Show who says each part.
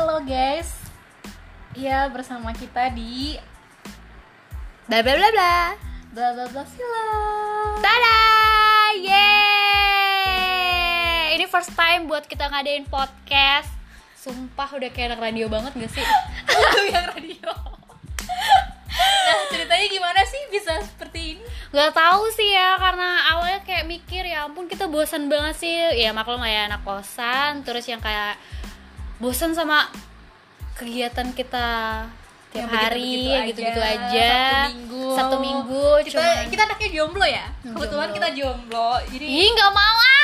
Speaker 1: Halo guys. Ya, bersama kita di
Speaker 2: Bla bla bla bla.
Speaker 1: Bla Bla Bla Film.
Speaker 2: Tada! Yeay! Ini first time buat kita ngadain podcast. Sumpah udah kayak anak radio banget gak sih?
Speaker 1: Yang radio. Nah, ceritanya gimana sih bisa seperti ini?
Speaker 2: Gak tahu sih ya, karena awalnya kayak mikir ya ampun kita bosan banget sih. Ya maklum lah ya, anak kosan. Terus yang kayak bosan sama kegiatan kita tiap hari gitu-gitu aja.
Speaker 1: Sabtu Minggu.
Speaker 2: Kita anaknya jomblo ya.
Speaker 1: Kebetulan kita jomblo. Jadi
Speaker 2: Ih, nggak mau